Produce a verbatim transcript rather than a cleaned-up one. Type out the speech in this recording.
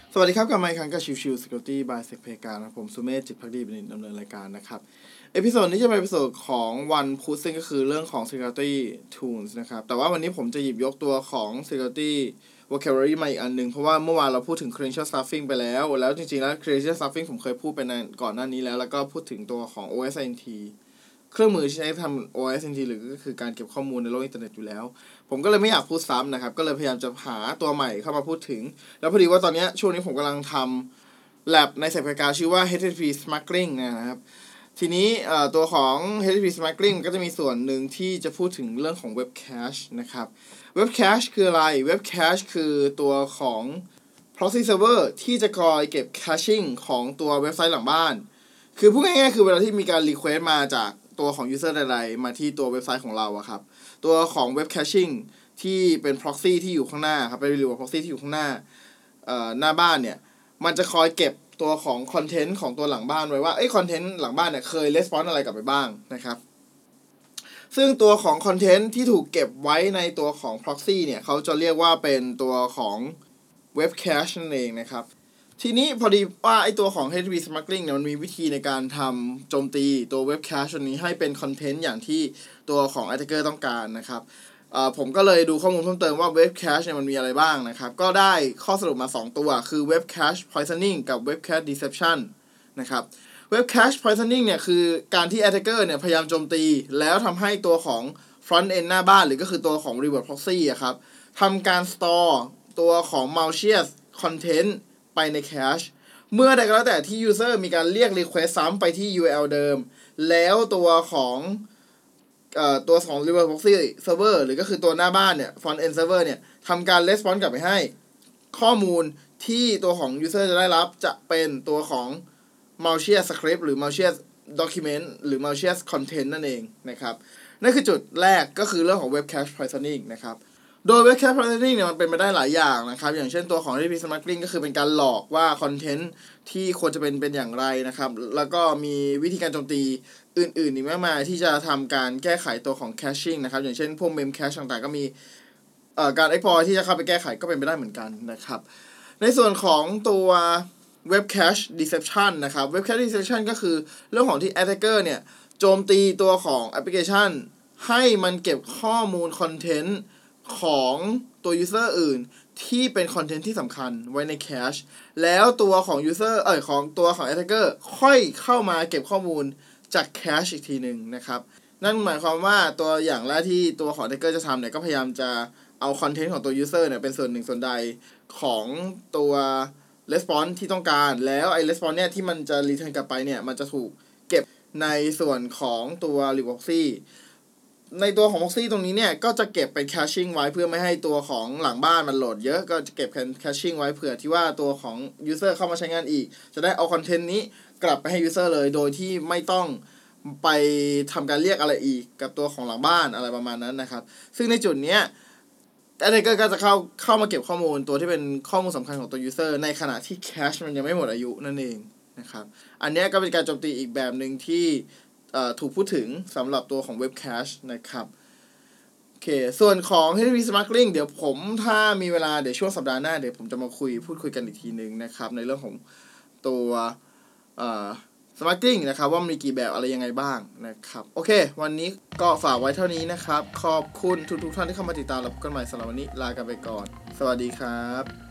สวัสดีครับกลับมาอีกครั้งกับชิวชิว Security by Sec เพการนะผมสุเมธจิตภักดีเป็นดำเนินรายการนะครับเอพิโซดนี้จะเป็นเอพิโซดของวันพุธซึ่งก็คือเรื่องของ Security Tools นะครับแต่ว่าวันนี้ผมจะหยิบยกตัวของ Security Vocabulary มาอีกอันนึงเพราะว่าเมื่อวานเราพูดถึง Credential Stuffing ไปแล้วแล้วจริงๆแล้ว Credential Stuffing ผมเคยพูดไปในก่อนหน้านี้แล้วแล้วก็พูดถึงตัวของ โอ เอส ไอ เอ็น ที เครื่องมือที่ใช้ทำ โอ เอส ไอ เอ็น ที หรือก็คือการเก็บข้อมูลในโลกอินเทอร์เน็ตอยู่แล้วผมก็เลยไม่อยากพูดซ้ำนะครับก็เลยพยายามจะหาตัวใหม่เข้ามาพูดถึงแล้วพอดีว่าตอนนี้ช่วงนี้ผมกำลังทำ lab ในสายการชื่อว่า เอช ที ที พี Smuggling นะครับทีนี้ตัวของ เอช ที ที พี Smuggling ก็จะมีส่วนหนึ่งที่จะพูดถึงเรื่องของ Web Cache นะครับ Web Cache คืออะไร Web Cache คือตัวของ proxy server ที่จะคอยเก็บ caching ของตัวเว็บไซต์หลังบ้านคือพูดง่ายๆคือเวลาที่มีการ request มาจากตัวของ user ใดๆมาที่ตัวเว็บไซต์ของเราอะครับตัวของ web caching ที่เป็น proxy ที่อยู่ข้างหน้าครับเป็น real proxy ที่อยู่ข้างหน้าเอ่อหน้าบ้านเนี่ยมันจะคอยเก็บตัวของ content ของตัวหลังบ้านไว้ว่าเอ้ย content หลังบ้านเนี่ยเคย response อะไรกลับไปบ้างนะครับซึ่งตัวของ content ที่ถูกเก็บไว้ในตัวของ proxy เนี่ยเขาจะเรียกว่าเป็นตัวของ web cache นั่นเองนะครับทีนี้พอดีว่าไอตัวของ เอช ที ที พี Smuggling เนี่ยมันมีวิธีในการทำโจมตีตัว Web Cache ตัวนี้ให้เป็นคอนเทนต์อย่างที่ตัวของ Attacker ต้องการนะครับผมก็เลยดูข้อมูลเพิ่มเติมว่า Web Cache เนี่ยมันมีอะไรบ้างนะครับก็ได้ข้อสรุปมาสองตัวคือ Web Cache Poisoning กับ Web Cache Deception นะครับ Web Cache Poisoning เนี่ยคือการที่ Attacker เนี่ยพยายามโจมตีแล้วทำให้ตัวของ Front End หน้าบ้านหรือก็คือตัวของ Reverse Proxy อะครับทำการ store ตัวของ malicious contentไปใน cache เมื่อใดก็แล้วแต่ที่ user มีการเรียก request ซ้ำไปที่ ยู อาร์ แอล เดิมแล้วตัวของเอ่อตัวของ reverse proxy server หรือก็คือตัวหน้าบ้านเนี่ย front end server เนี่ยทำการ response กลับไปให้ข้อมูลที่ตัวของ user จะได้รับจะเป็นตัวของ malicious script หรือ malicious document หรือ malicious content นั่นเองนะครับนั่นคือจุดแรกก็คือเรื่องของ web cache poisoning นะครับโดย Web Cache Poisoning เนี่ยมันเป็นไปได้หลายอย่างนะครับอย่างเช่นตัวของ เอช ที ที พี Smuggling ก็คือเป็นการหลอกว่าคอนเทนต์ที่ควรจะเป็นเป็นอย่างไรนะครับแล้วก็มีวิธีการโจมตีอื่นๆอีกมากมายที่จะทำการแก้ไขตัวของ Caching นะครับอย่างเช่นพวก Mem Cache ต่างๆก็มีเอ่อการ exploit ที่จะเข้าไปแก้ไขก็เป็นไปได้เหมือนกันนะครับในส่วนของตัว Web Cache Deception นะครับ Web Cache Deception ก็คือเรื่องของที่ Attacker เนี่ยโจมตีตัวของแอปพลิเคชันให้มันเก็บข้อมูลคอนเทนต์ของตัว user อื่นที่เป็นคอนเทนต์ที่สำคัญไว้ใน cache แล้วตัวของ user เอ่ยของตัวของ attacker ค่อยเข้ามาเก็บข้อมูลจาก cache อีกทีหนึ่งนะครับนั่นหมายความว่าตัวอย่างแรกที่ตัวของ attacker จะทำเนี่ยก็พยายามจะเอาคอนเทนต์ของตัว user เนี่ยเป็นส่วนหนึ่งส่วนใดของตัว response ที่ต้องการแล้วไอ้ response เนี่ยที่มันจะ return กลับไปเนี่ยมันจะถูกเก็บในส่วนของตัว reproxyในตัวของ proxy ตรงนี้เนี่ยก็จะเก็บเป็น caching ไว้เพื่อไม่ให้ตัวของหลังบ้านมันโหลดเยอะก็จะเก็บเป็น caching ไว้เผื่อที่ว่าตัวของ user เข้ามาใช้งานอีกจะได้เอาคอนเทนต์นี้กลับไปให้ user เลยโดยที่ไม่ต้องไปทำการเรียกอะไรอีกกับตัวของหลังบ้านอะไรประมาณนั้นนะครับซึ่งในจุดนี้ attacker ก็จะเข้าเข้ามาเก็บข้อมูลตัวที่เป็นข้อมูลสำคัญของตัว user ในขณะที่ cache มันยังไม่หมดอายุนั่นเองนะครับอันนี้ก็เป็นการโจมตีอีกแบบนึงที่ถูกพูดถึงสำหรับตัวของ Web Cache นะครับโอเคส่วนของ เอช ที ที พี Smuggling เดี๋ยวผมถ้ามีเวลาเดี๋ยวช่วงสัปดาห์หน้าเดี๋ยวผมจะมาคุยพูดคุยกันอีกทีนึงนะครับในเรื่องของตัวเอ่อ Smuggling นะครับว่ามีกี่แบบอะไรยังไงบ้างนะครับโอเควันนี้ก็ฝากไว้เท่านี้นะครับขอบคุณทุกๆท่านที่เข้ามาติดตามรับกันใหม่สำหรับวันนี้ลากันไปก่อนสวัสดีครับ